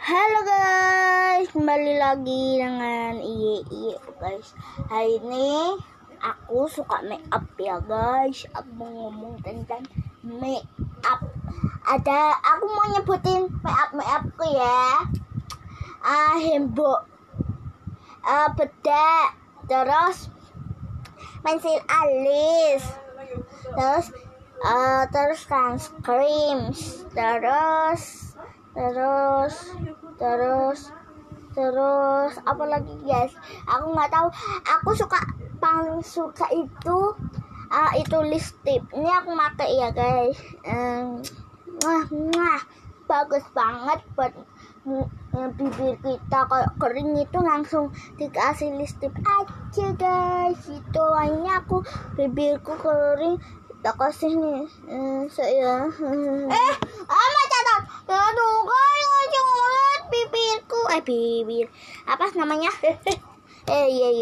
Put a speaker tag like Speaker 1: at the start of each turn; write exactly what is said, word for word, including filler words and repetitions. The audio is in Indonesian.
Speaker 1: Halo guys, kembali lagi dengan Iye Iye guys. Hari ini aku suka make up ya guys. Aku mau ngomong tentang make up. Ada, aku mau nyebutin make up make upku ya. Ah, hembok, ah, bedak, terus pensil alis, terus uh, terus sunscreen, terus terus terus terus apa lagi guys, aku nggak tahu. Aku suka paling suka itu uh, itu lipstick ini aku pakai ya guys. um, wah, wah bagus banget buat uh, bibir kita kalau kering itu langsung dikasih lipstick aja guys. Itu ini aku bibirku kering tak kasih nih uh, saya eh ama catat aduh kalau jangan bibirku eh bibir apa namanya eh iya, iya.